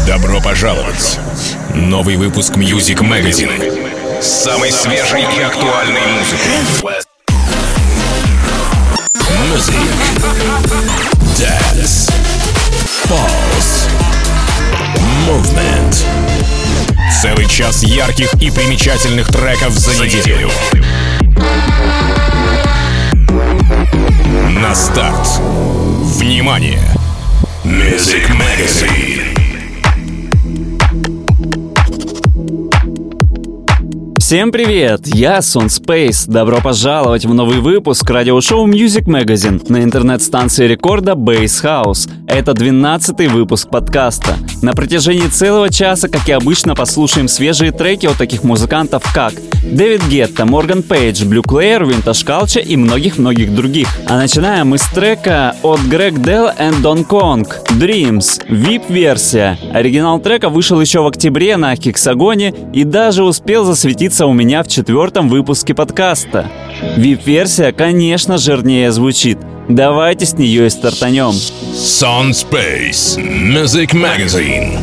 Добро пожаловать! Новый выпуск Music Magazine с самой свежей и актуальной музыкой. Music, Dance, Pulse, Movement. Целый час ярких и примечательных треков за неделю. На старт. Внимание! Music Magazine. Всем привет, я Сон Спейс. Добро пожаловать в новый выпуск радиошоу Music Magazine на интернет-станции рекорда Bass House. Это 12-й выпуск подкаста. На протяжении целого часа, как и обычно, послушаем свежие треки от таких музыкантов, как Дэвид Гетта, Морган Пейдж, Blue Claire, Vintage Culture и многих-многих других. А начинаем мы с трека от Greg Dell and Don Kong Dreams, VIP-версия. Оригинал трека вышел еще в октябре на Хексагоне и даже успел засветиться у меня в 4-м выпуске подкаста. VIP-версия, конечно, жирнее звучит. Давайте с нее и стартанем. Сон Спейс, Music Magazine.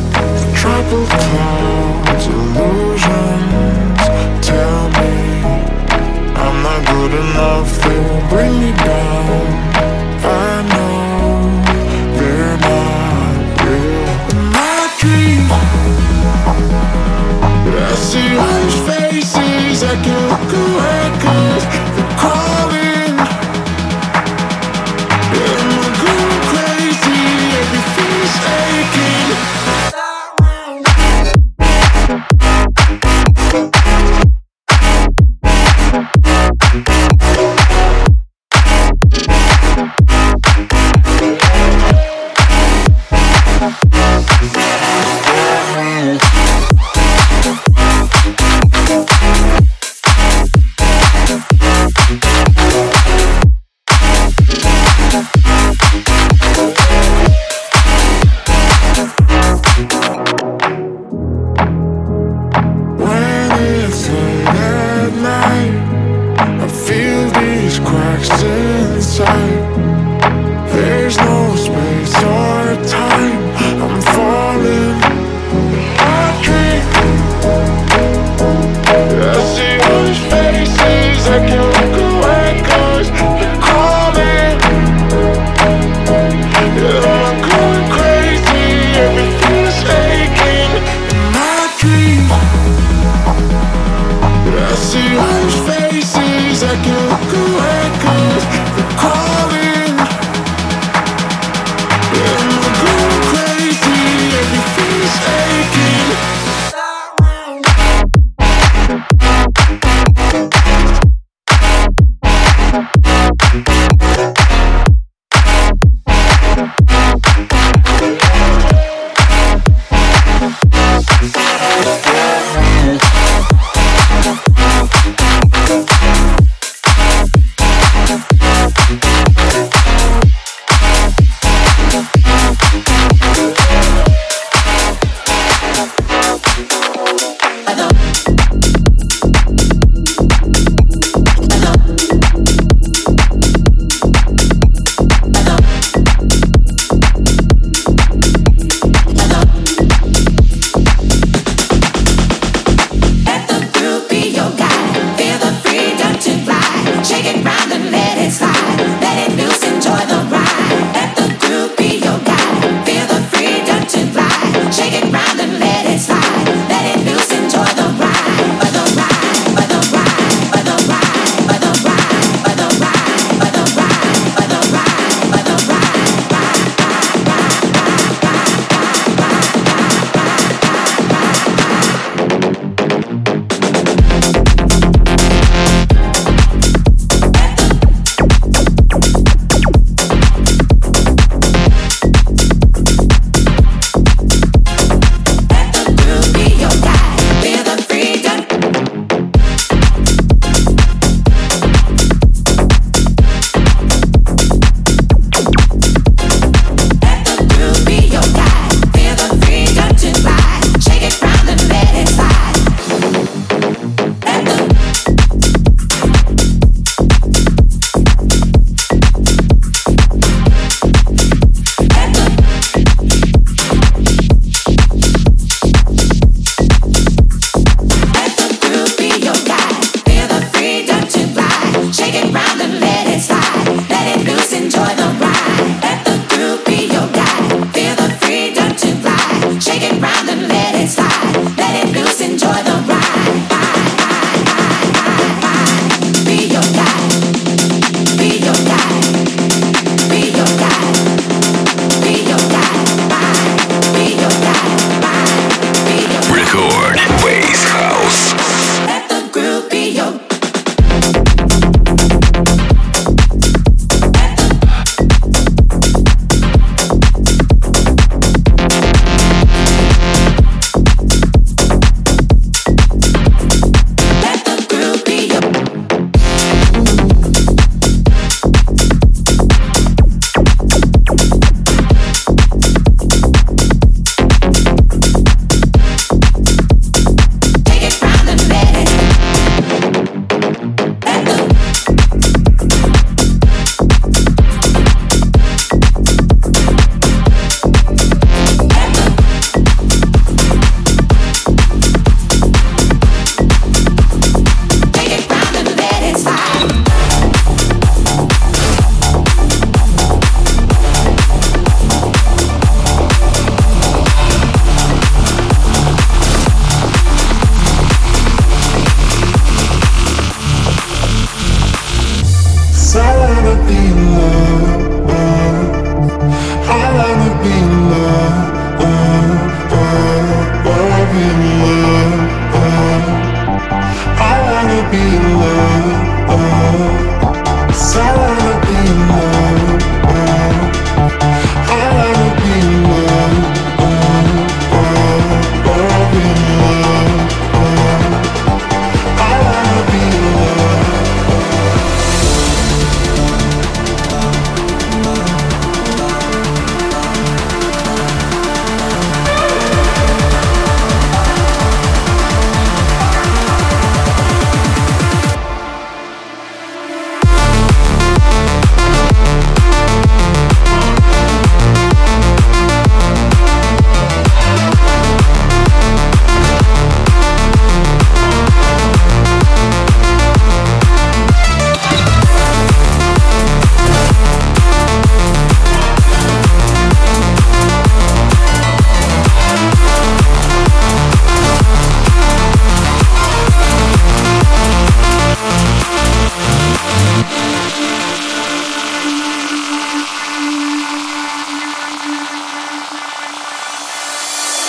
I can look away 'cause they're calling. Am I going crazy? Everything's aching.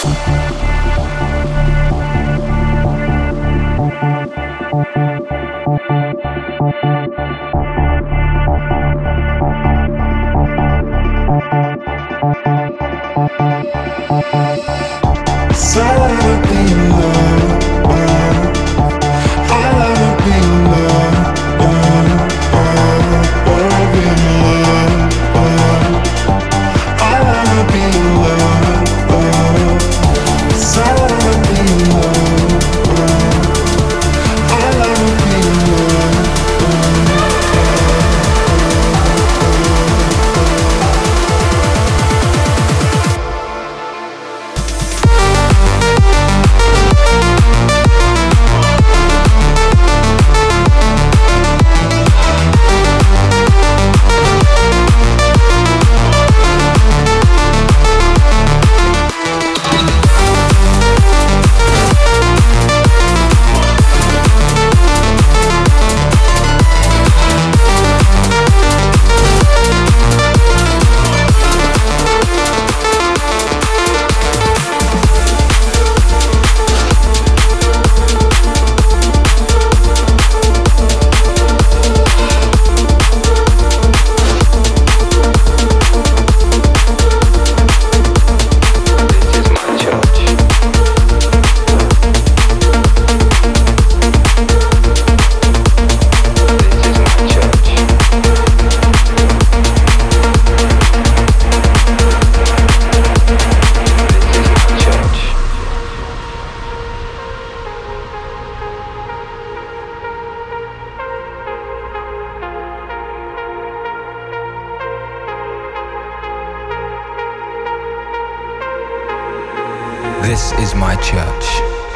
This is my church.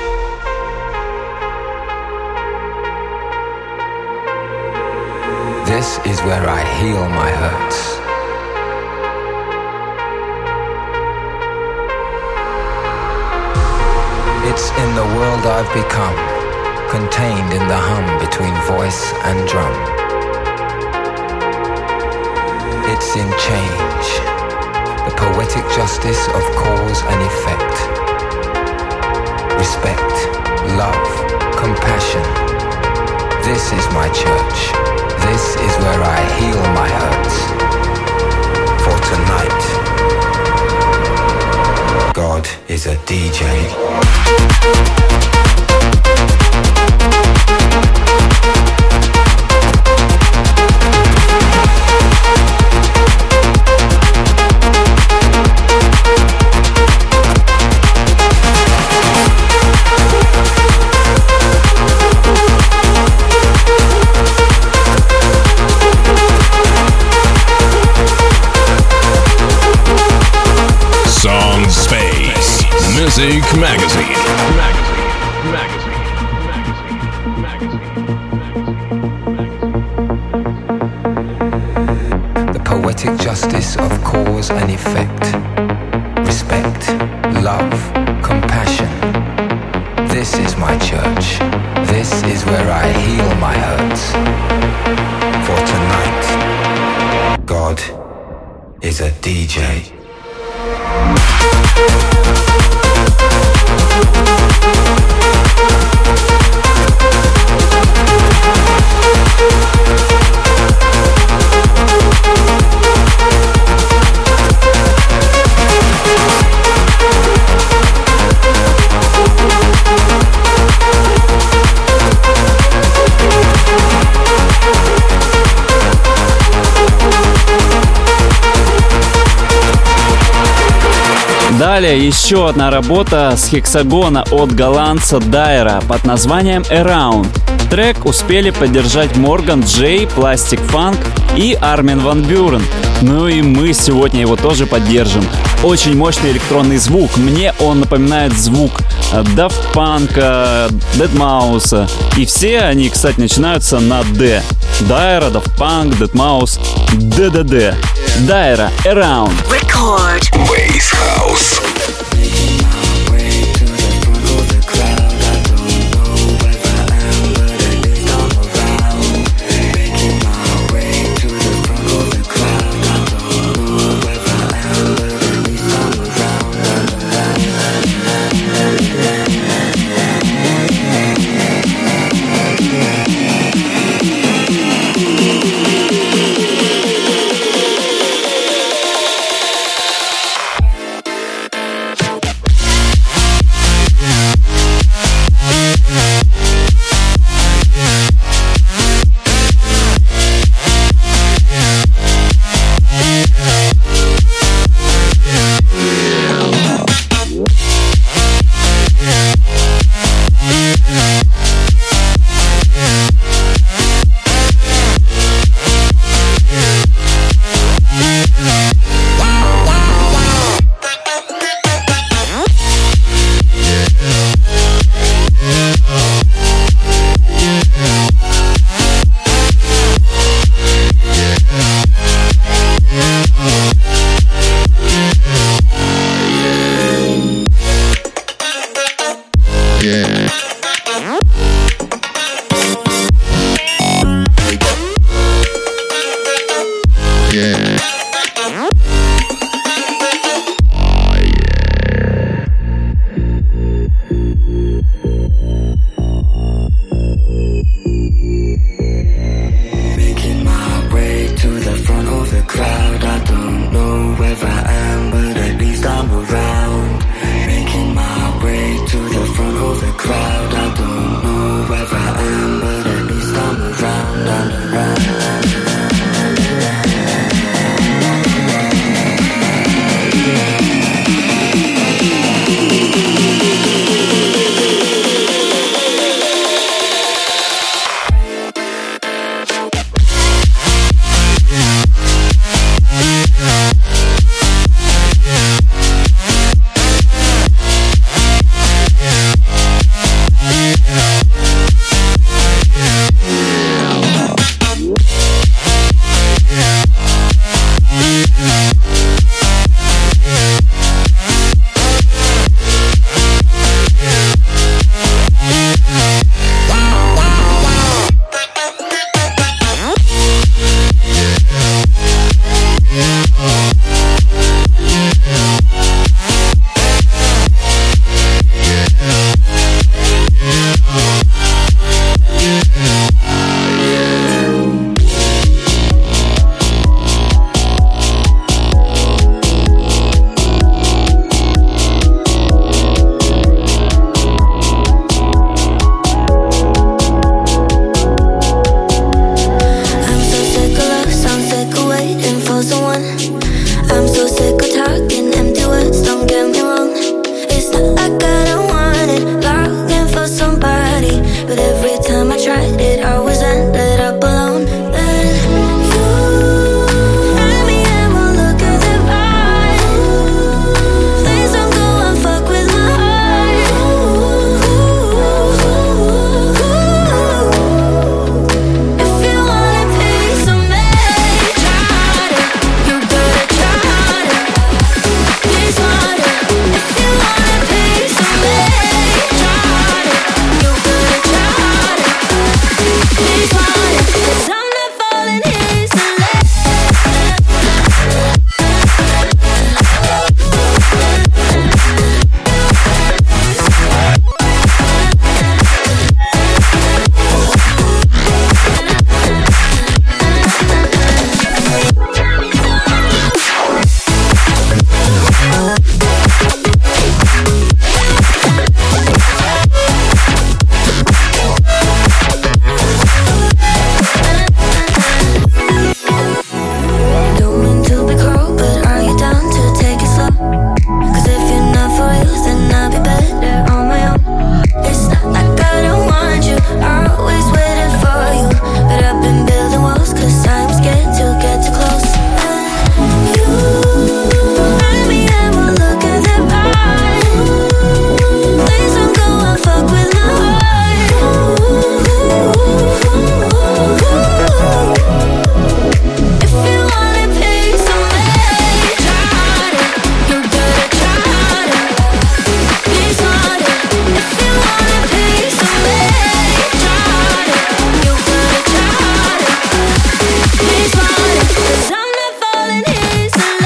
This is where I heal my hurts. It's in the world I've become, contained in the hum between voice and drum. It's in change, the poetic justice of cause and effect. Respect, love, compassion. This is my church. This is where I heal my hurts. For tonight, God is a DJ. Song Space Music Magazine. The poetic justice of cause and effect. Respect, love, compassion. This is my church. This is where I heal my hurts. For tonight, God is a DJ. Далее еще одна работа с хексагона от голландца Дайра под названием Around. Трек успели поддержать Морган Джей, Plastic Funk и Армин ван Бюрен. Ну и мы сегодня его тоже поддержим. Очень мощный электронный звук. Мне он напоминает звук Daft Punk, Deadmau5. И все они, кстати, начинаются на D. Дайра, Daft Punk, Deadmau5, DDD. Дайра, Around. Record. Bass House. but every time I tried it, I always ended up alone. Then you had me and we'll look at the right. Please don't go and fuck with my heart. If you want a piece of me, try it. You gotta try it. Please want it. If you want a piece of me, try it. You gotta try it. Please want it. 'Cause I'm not falling easily. Don't mean to be cruel, but are you down to take it slow? 'Cause if you're not for real, then I'll be better on my own. It's not like I don't want you, I always waited for you. But I've been building walls 'cause I'm scared to get too close. You had me and we'll look at the right. Please don't go and fuck with my heart. If you want a piece of me, try it. You gotta try it. Please want it. If you want a piece of me, try it. You gotta try it. Please want it. 'Cause I'm not falling easily.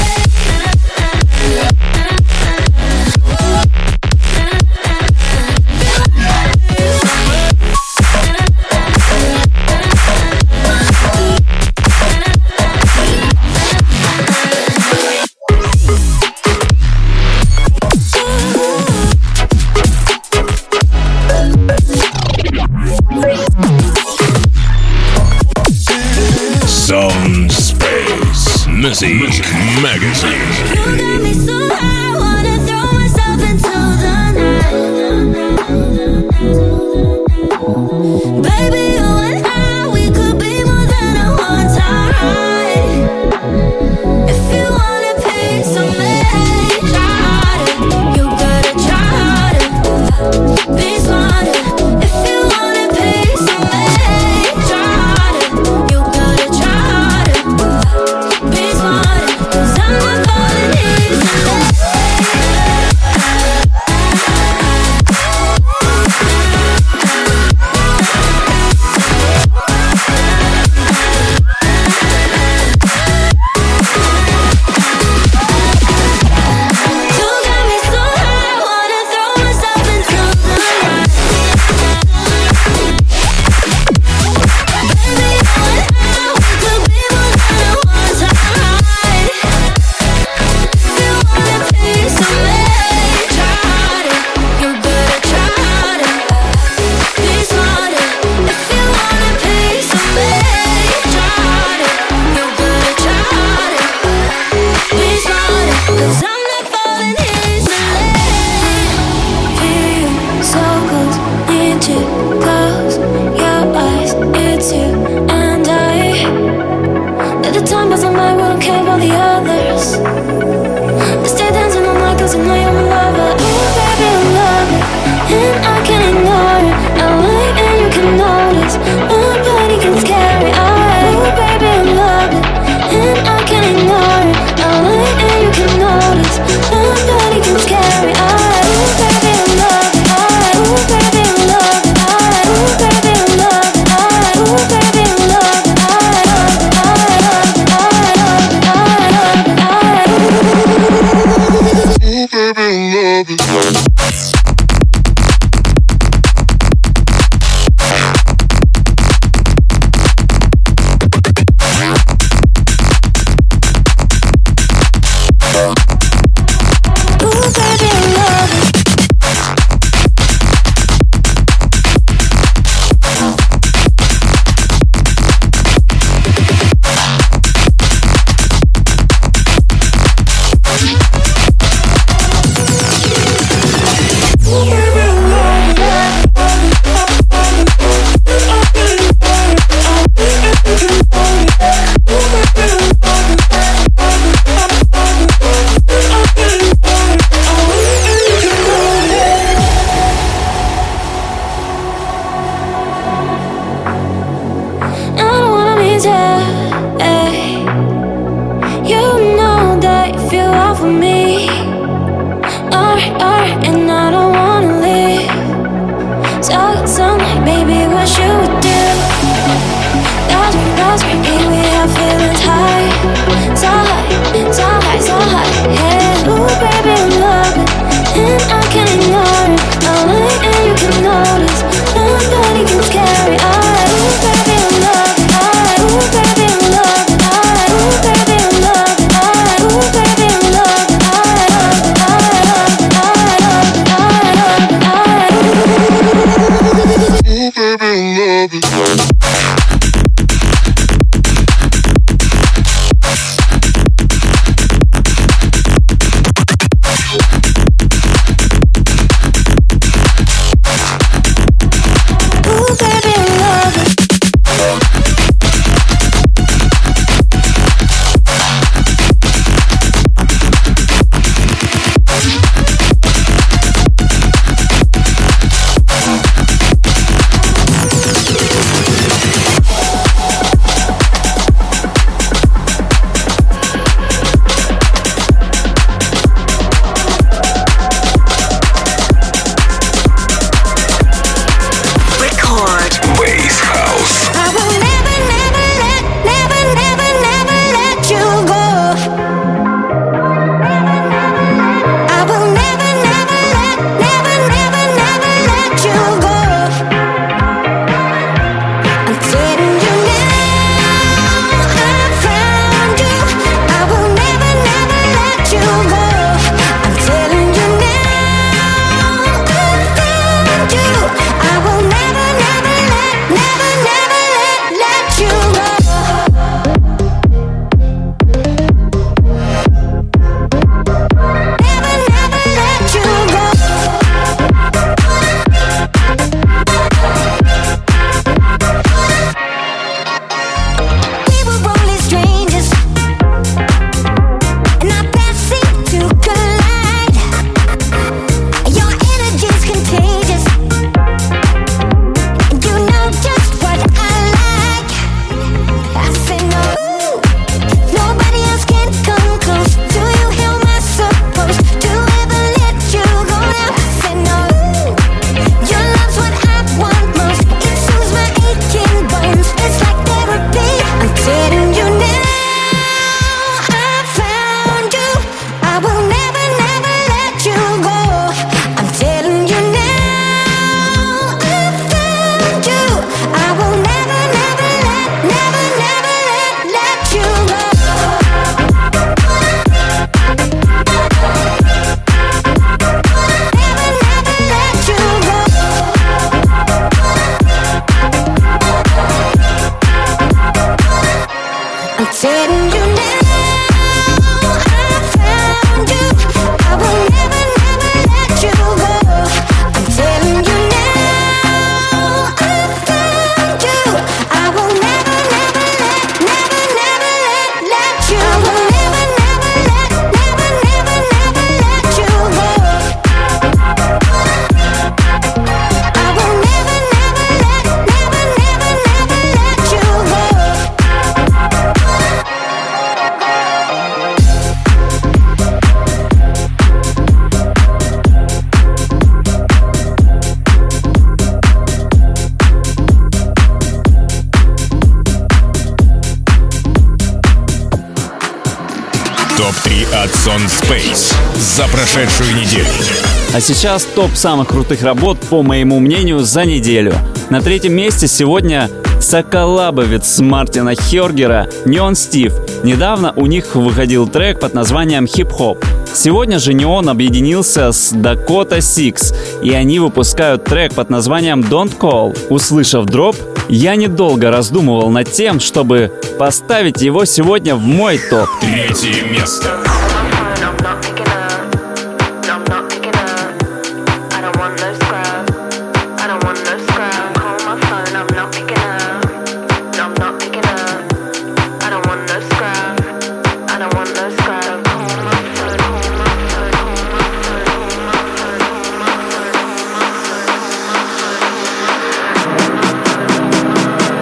Sound Space Music Magazine. You got me so high, I wanna throw myself into the night. Baby, you and I, we could be more than a one-time ride. If you want a piece of me, try it. You gotta try it. Please want it. If you want a piece of me, try it. You gotta try it. Please want it. 'Cause I'm not falling easily. You got me so high, I wanna throw myself into the night. Baby, you and I, we could be more than a one-time ride. If you want a piece of me, try it. You gotta try it. Please want it. If you want a piece of me, try it. You gotta try it. Please want it. 'Cause I'm not falling easily. Feel so close, need to close your eyes. It's you and I. At the time wasn't mine, we don't care about the others. I stay dancing all night 'cause I know you're my lover. Oh baby, I love it, and I can't ignore it. I like and you can notice, my body gets scary. Oh baby, I love it, and I can't ignore it. I like and you can notice, my body gets scary. Oh baby, I love it. Oh baby, I love it. Oh baby, I love it. Oh baby, I love it. and I don't wanna leave. Sound like baby, what you would do? That's me, baby, I'm feeling high. So high, so high, so high, yeah. Ooh, baby, I'm loving, and I can't ignore it. I like and you can notice, nobody can scare it. Ooh, baby, I'm loving, ooh, baby, I'm loving, ooh, baby, I'm loving, ooh, baby, I'm loving, Топ-3 от Son Space за прошедшую неделю. А сейчас топ самых крутых работ, по моему мнению, за неделю. На третьем месте сегодня соколабовец с Мартина Хёргера Neon Steve. Недавно у них выходил трек под названием Hip Hop. Сегодня же Neon объединился с Dakota Six, и они выпускают трек под названием Don't Call. Услышав дроп, я недолго раздумывал над тем, чтобы поставить его сегодня в мой топ. Третье место.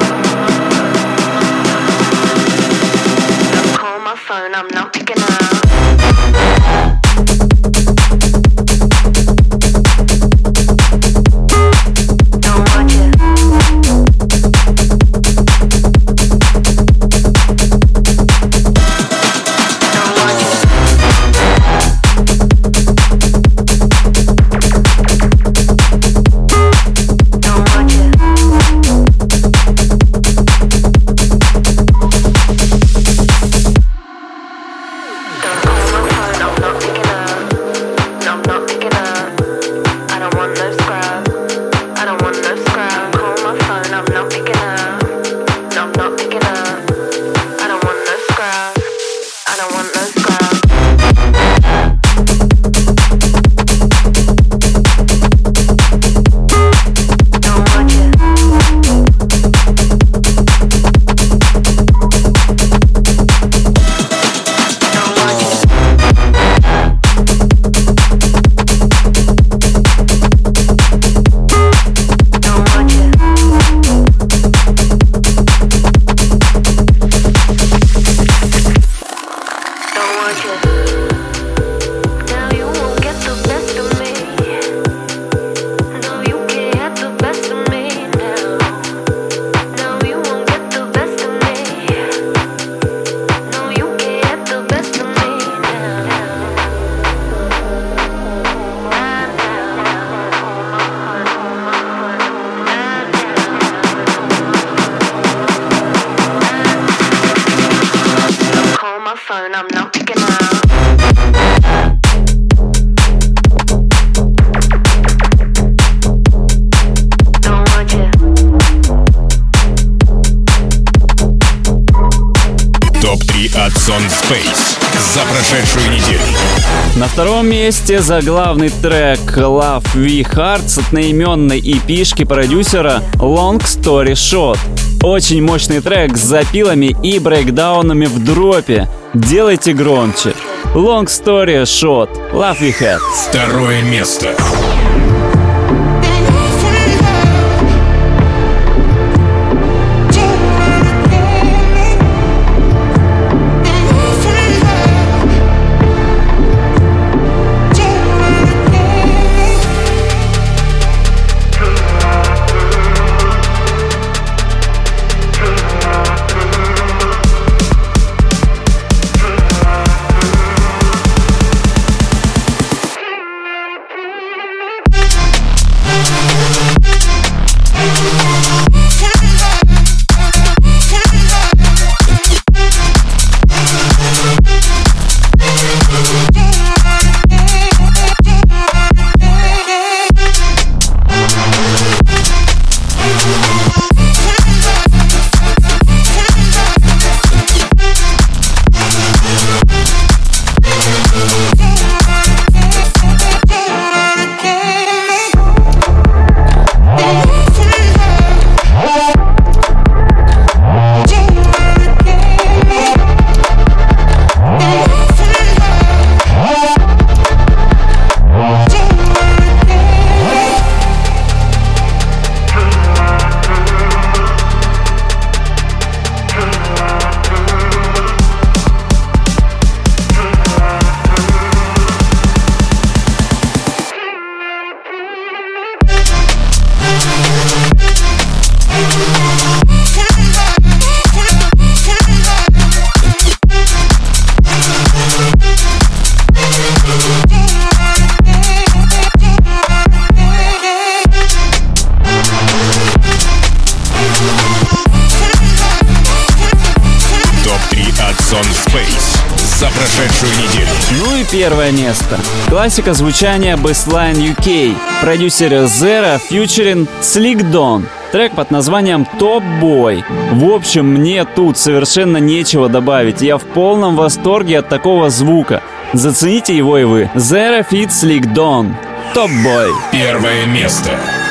I'm not picking up. Сон Space за прошедшую неделю. На втором месте заглавный трек Love We Heart с одноименной EP-шки продюсера Long Story Short. Очень мощный трек с запилами и брейкдаунами в дропе. Делайте громче. Long Story Short, Love We Had. Второе место. за прошедшую неделю. Ну и первое место. Классика звучания Bassline UK. Продюсер Zera featuring Slick Don. Трек под названием Top Boy. В общем, мне тут совершенно нечего добавить. Я в полном восторге от такого звука. Зацените его и вы. Zera feat Slick Don. Top Boy. Первое место.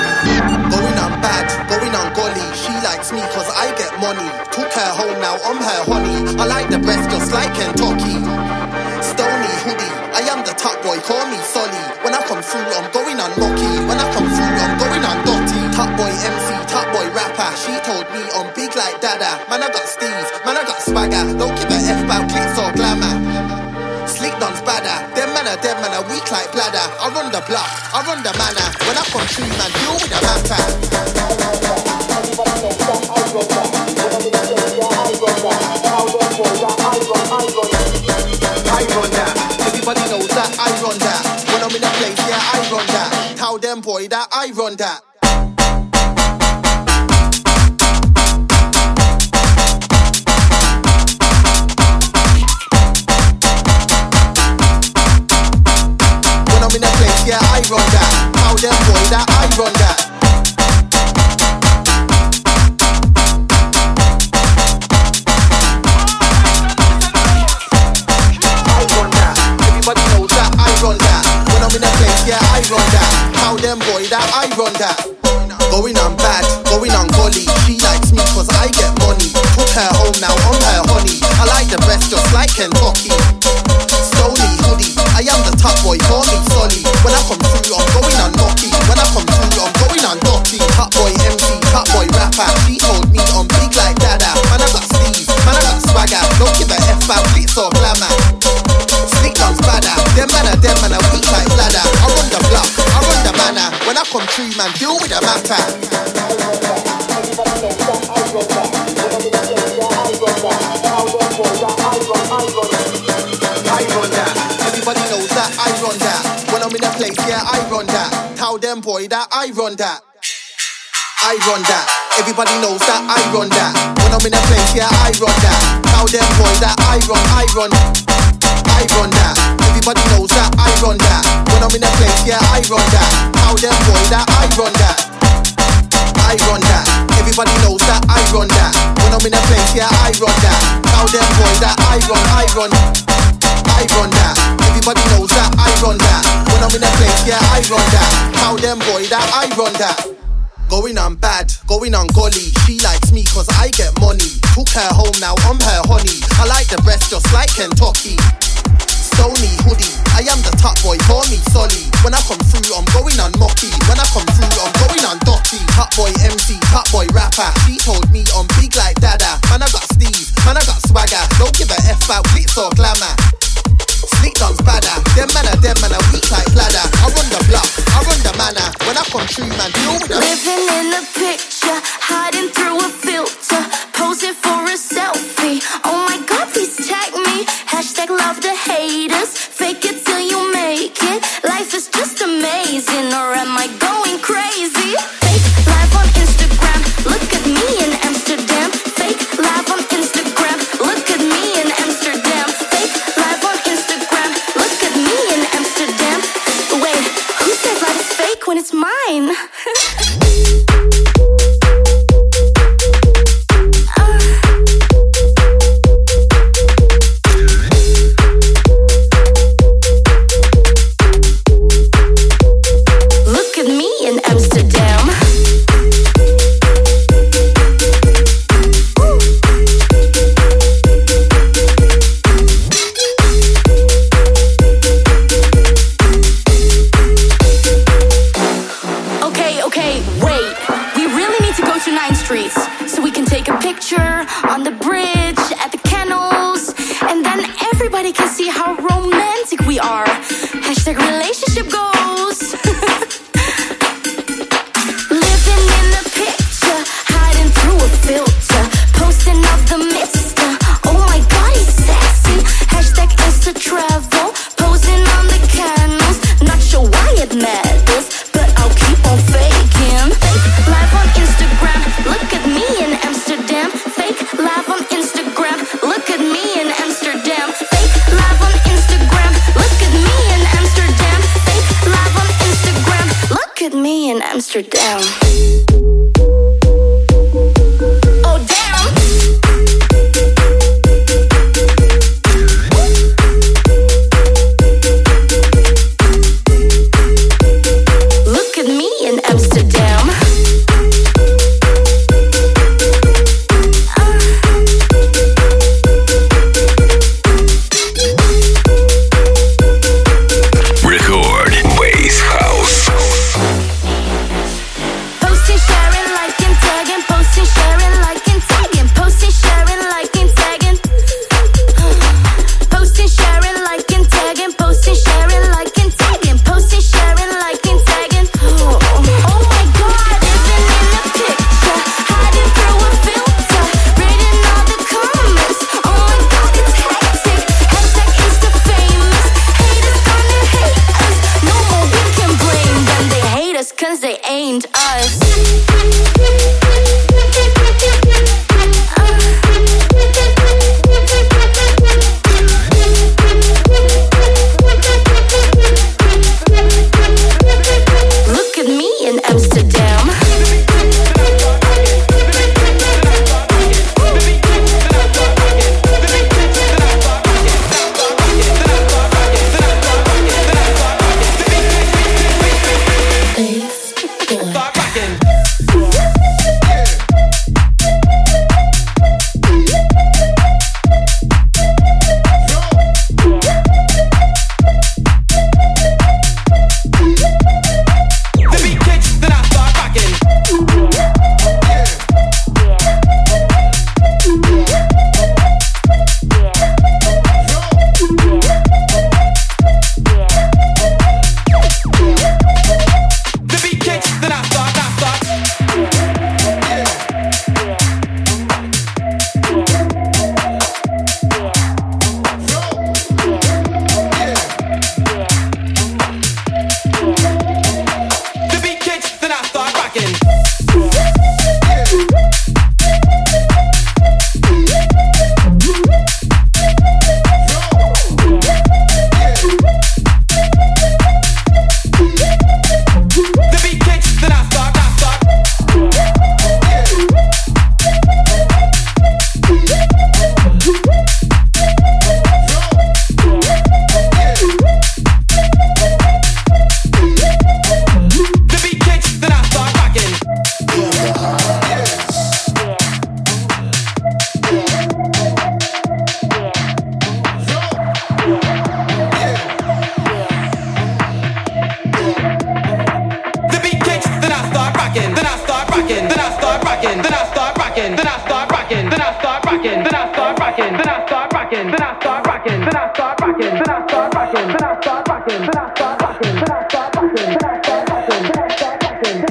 Going on bad, going on golly. She likes me cause I get money. Took her home, now I'm her honey. I like the breath just like Kentucky. Stony hoodie, I am the top boy, call me Solly. When I come through, I'm going on mucky. When I come through, I'm going on dotty. Top boy MC, top boy rapper. She told me I'm big like Dada. Man, I got Steve, man, I got swagger. Don't give a F about clicks or glamour. Slick Don's badder. Them man are dead, man are weak like bladder. I run the block, I run the manor. When I come through, man, deal with the matter. I run that. Everybody knows that I run that. When I'm in a place, yeah, I run that. Tell them, boy, that I run that. When I'm in a place, yeah, I run that. Tell them, boy, that I run that. How them boy that I run that. Going on bad, going on golly. She likes me cause I get money. Took her home, now I'm her honey. I like the breath just like Kentucky. Stony hoodie, I am the top boy, call me Solly. When I come through, I'm going on mucky. When I come through, I'm going on dotty. Top boy MC, top boy rapper. She told me I'm big like Dada. Man, I got Steve, man, I got swagger. Don't give a F about glitz or glamour. Slick Don's badder. Them man are weak like bladder. I run the block, I run the manor. When I come through, man, deal with the matter. I run that. Everybody knows that I run that. When I'm in a place, yeah, I run that. Tell them, boy, that I run that. I run that. Everybody knows that I run that. When I'm in a place, yeah, I run that. Tell them, boy, that I run that. Everybody knows that I run that. When I'm in a place, yeah, I run that. Tell them, boy, that I run that. I run that. Everybody knows that I run that. When I'm in a place, yeah, I run that. Tell them boy that I run that. Everybody knows that I run that. When I'm in a place, yeah, I run that. Tell them boy that I run that. Going on bad, going on golly. She likes me cause I get money. Took her home, now I'm her honey. I like the breast just like Kentucky. Stony hoodie, I am the top boy, call me Solly. When I come through, I'm going on mucky. When I come through, I'm going on dotty. Top boy MC, top boy rapper. She told me I'm big like Dada. Man, I got Steve, man, I got swagger. Don't give a F about glitz or glamour. Slick dogs badder, them man are weak like bladder. I run the block, I run the manor. When I come through, man, deal with them. Living in a picture, hiding through a filter, posing for a selfie. Oh my God, please tag me. Hashtag love the haters. Fake it till you make it. Life is just amazing, or am I going crazy? Fake live on Instagram. Look at me in Amsterdam. Fake live on Instagram. Look at me in Amsterdam. Fake live on Instagram. Look at me in Amsterdam. Wait, who says life is fake when it's mine? Look at me in Amsterdam. Okay, wait. We really need to go to 9th Street so we can take a picture on the bridge at the kennels, and then everybody can see how romantic we are. Hashtag relationship goals. Living in a picture, hiding through a filter, posting of the mister. Oh my God, he's sexy. Hashtag Insta travel, posing on the canals. Not sure why it matters, but I'll keep on faking. Fake live on Instagram. Look at me in Amsterdam. Fake live on Instagram. Look at me in Amsterdam. Fake live on Instagram. Look at me in Amsterdam. Fake live on Instagram. Look at me in Amsterdam. Oh damn. Look at me in Amsterdam. Record Bass House. Posting, sharing, liking, tagging. Posting, sharing, liking, tagging. Posting, sharing, liking, tagging. Posting, sharing, liking, tagging. Posting, sharing, liking, tagging. Posting, sharing, liking, tagging. Oh my God, living in a picture, hiding through a filter, reading all the comments. Oh my God, it's hectic. Hashtag Insta famous. Haters gonna hate us. No more we can blame them. They hate us 'cause they ain't us. Look at me in Amsterdam. rocking, then I start rocking, then I start rocking, then I start rocking, then I start rocking, then I start rocking, then I start rocking, then I start rocking, then I start rocking, then I start rocking, then I start rocking, then I start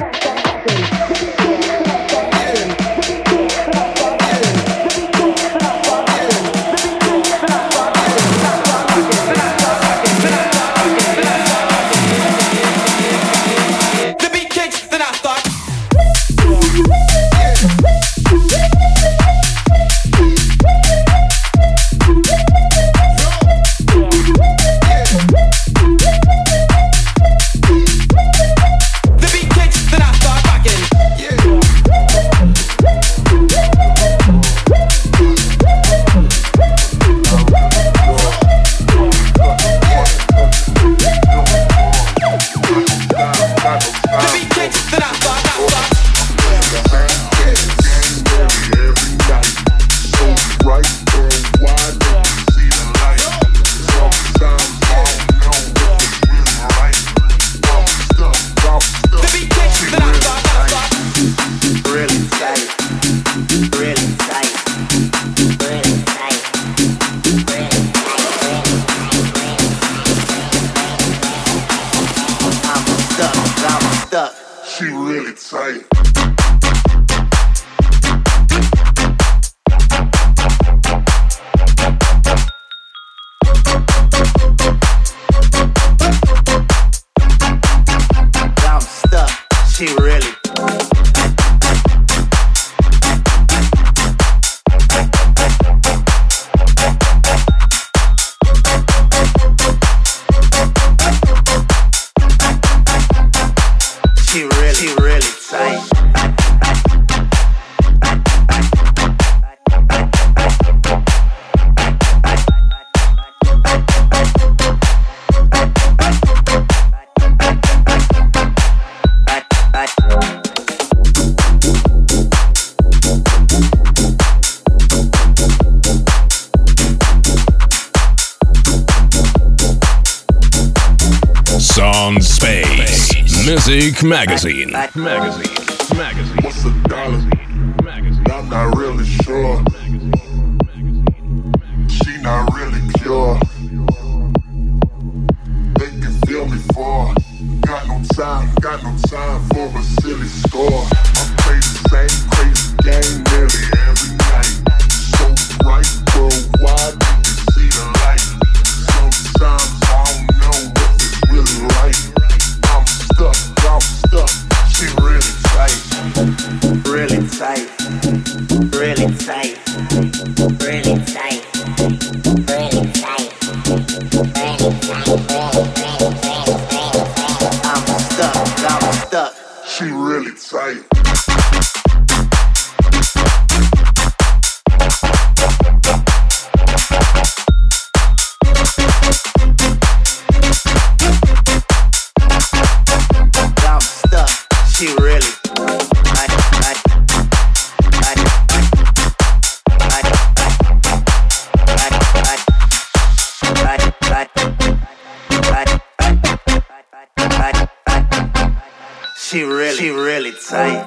Space Music Magazine. What's a dollar? I'm not really sure. She not really pure. They can feel me for. Got no time for a silly score. I play the same crazy game nearly every night. So bright worldwide, you can see the light. Sometimes I don't know if it's really right. I'm stuck. She really tight. Really tight. Really tight. Really tight. Really tight. I'm stuck. She really tight. She really tight.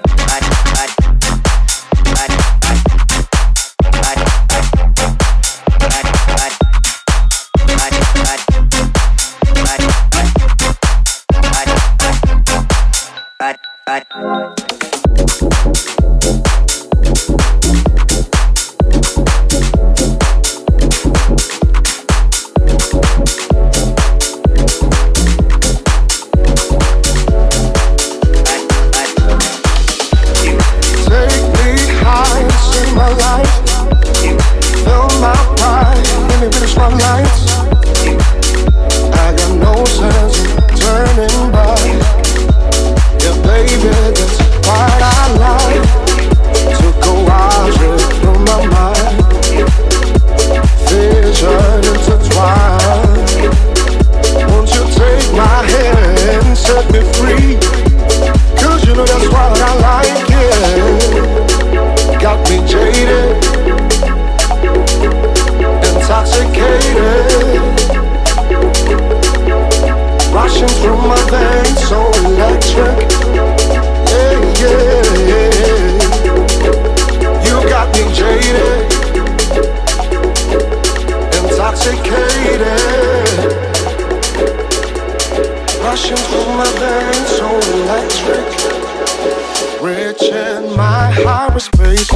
hyperspace.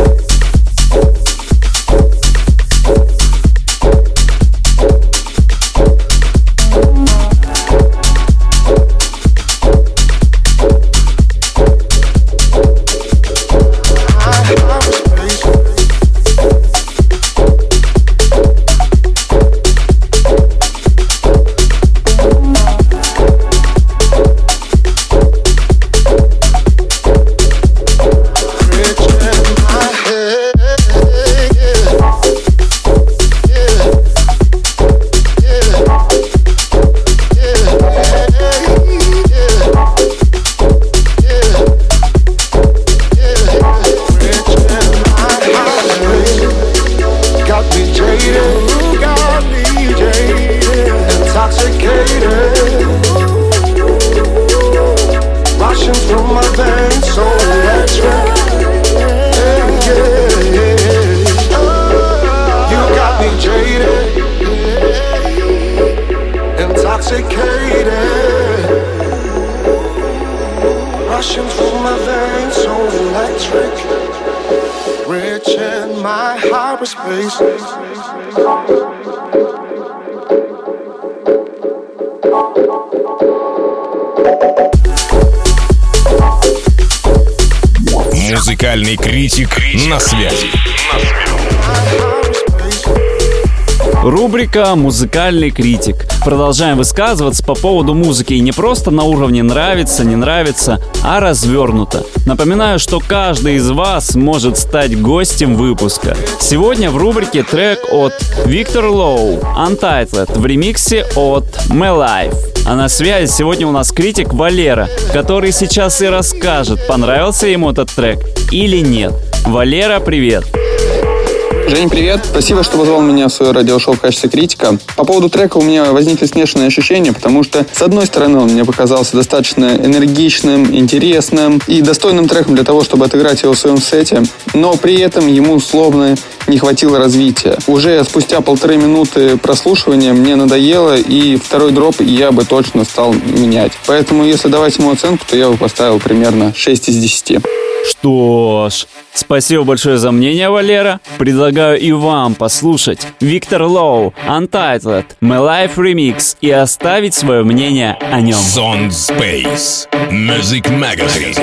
Музыкальный критик на связи. Рубрика «Музыкальный критик». Продолжаем высказываться по поводу музыки, и не просто на уровне нравится, не нравится, а развернуто. Напоминаю, что каждый из вас может стать гостем выпуска. Сегодня в рубрике трек от Victor Low Untitled в ремиксе от My Life. А на связи сегодня у нас критик Валера, который сейчас и расскажет, понравился ему этот трек или нет. Валера, привет! Жень, привет. Спасибо, что позвал меня в свое радиошоу в качестве критика. По поводу трека у меня возникли смешанные ощущения, потому что, с одной стороны, он мне показался достаточно энергичным, интересным и достойным треком для того, чтобы отыграть его в своем сете, но при этом ему словно не хватило развития. Уже спустя 1,5 минуты прослушивания мне надоело, и второй дроп я бы точно стал менять. Поэтому, если давать ему оценку, то я бы поставил примерно 6 из 10. Что ж, спасибо большое за мнение, Валера. Предлагаю и вам послушать Victor Low Untitled My Life Remix и оставить свое мнение о нем. Sound Space Music Magazine.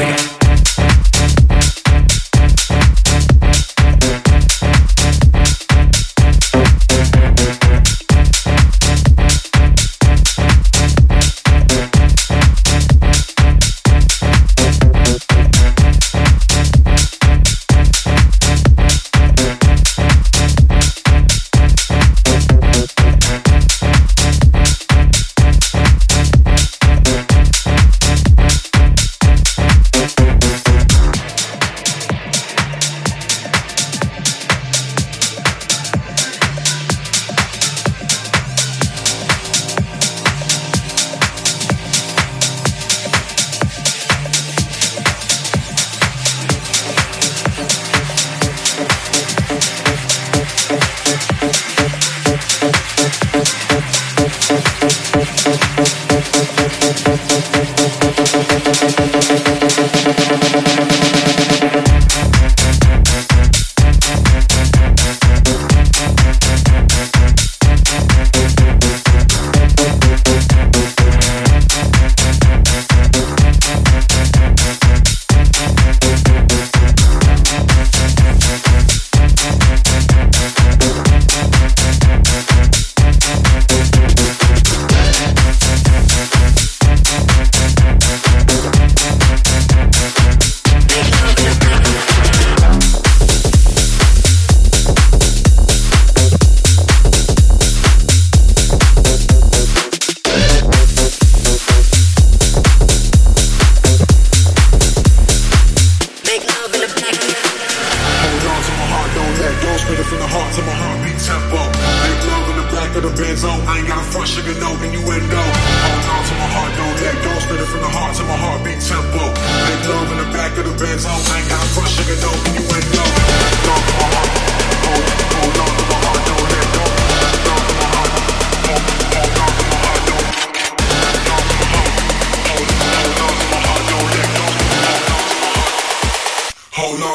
Hold on.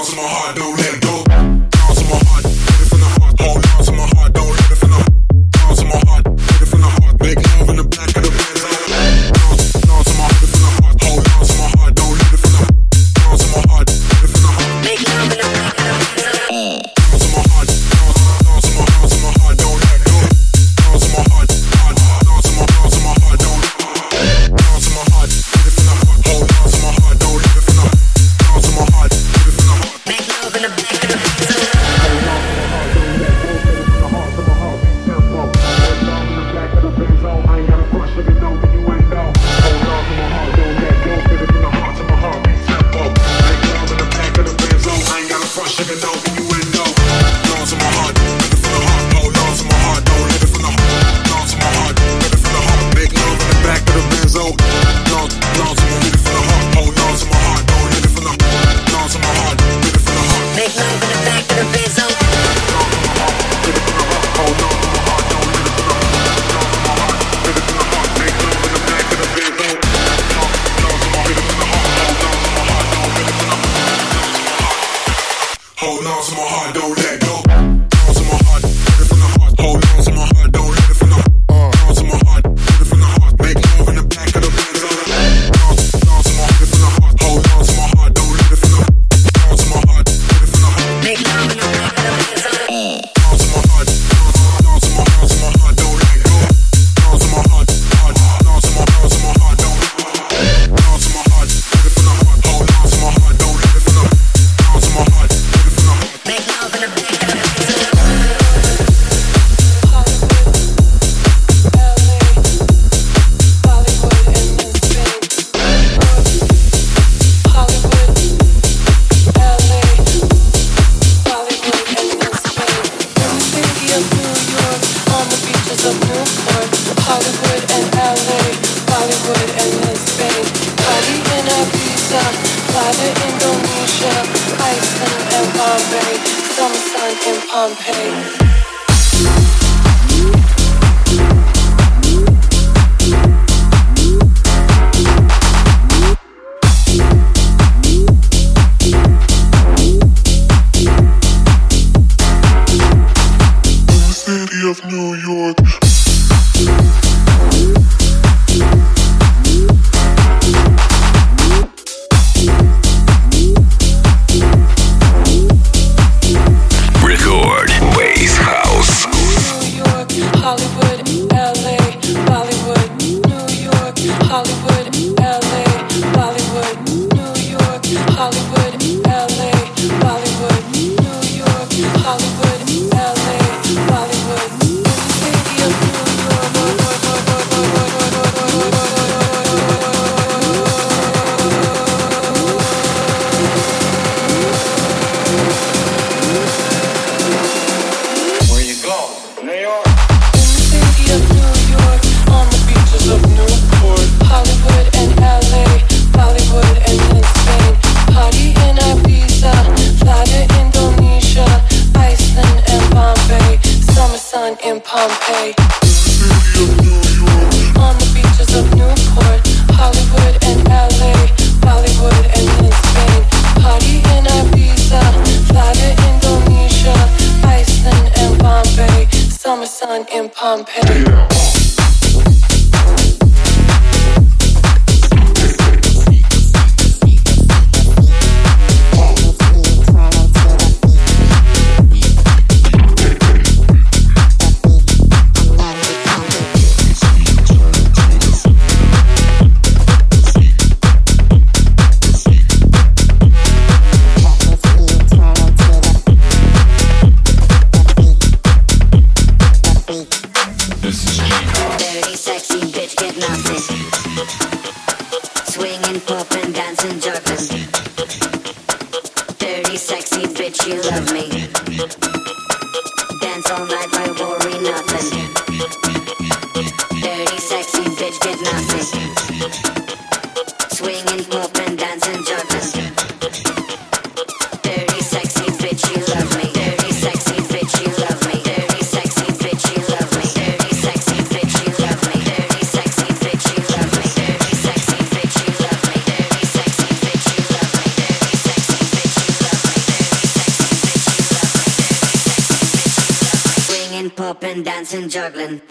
popping, dancing, juggling.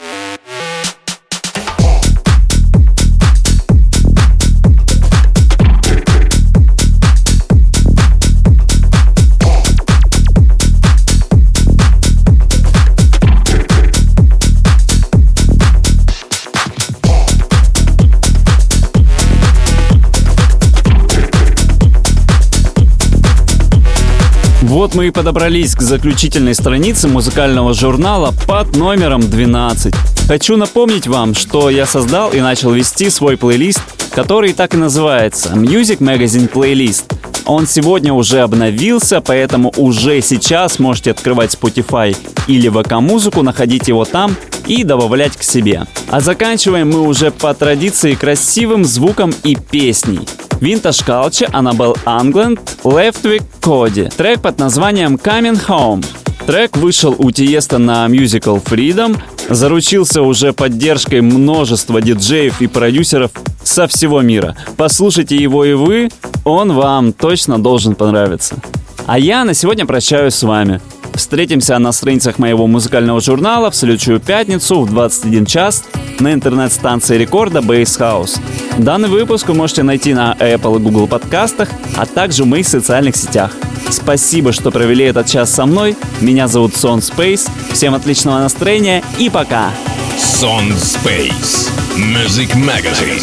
Вот мы и подобрались к заключительной странице музыкального журнала под номером 12. Хочу напомнить вам, что я создал и начал вести свой плейлист, который так и называется Music Magazine Playlist. Он сегодня уже обновился, поэтому уже сейчас можете открывать Spotify или VK-музыку, находить его там и добавлять к себе. А заканчиваем мы уже по традиции красивым звуком и песней. Vintage Culture, Annabelle Angland, Leftwich Cody. Трек под названием Coming Home. Трек вышел у Тиеста на Musical Freedom, заручился уже поддержкой множества диджеев и продюсеров со всего мира. Послушайте его и вы, он вам точно должен понравиться. А я на сегодня прощаюсь с вами. Встретимся на страницах моего музыкального журнала в следующую пятницу в 21 час на интернет-станции рекорда Bass House. Данный выпуск вы можете найти на Apple и Google подкастах, а также в моих социальных сетях. Спасибо, что провели этот час со мной. Меня зовут Сон Space. Всем отличного настроения и пока! Сон Space Music Magazine.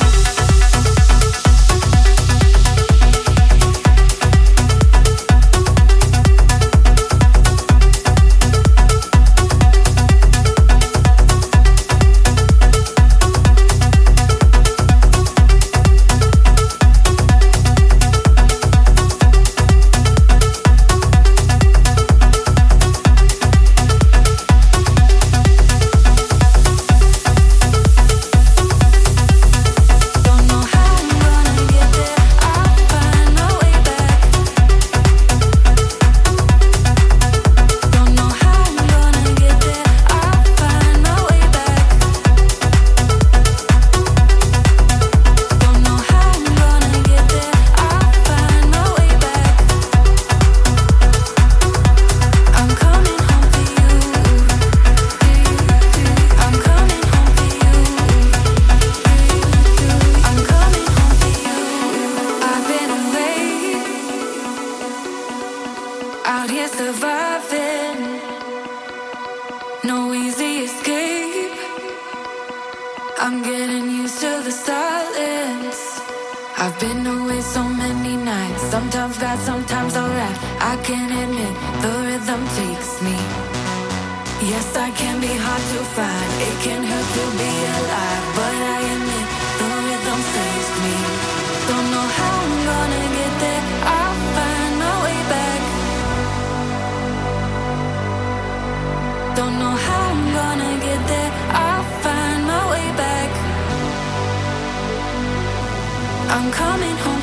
I'm getting used to the silence. I've been away so many nights. Sometimes bad, sometimes alright. I can admit the rhythm takes me. Yes, I can be hard to find. It can hurt to be alive, but I admit the rhythm saves me. Don't know how I'm gonna get there. I'll find my way back. Don't know how I'm gonna get there. I'll find my way back. I'm coming home.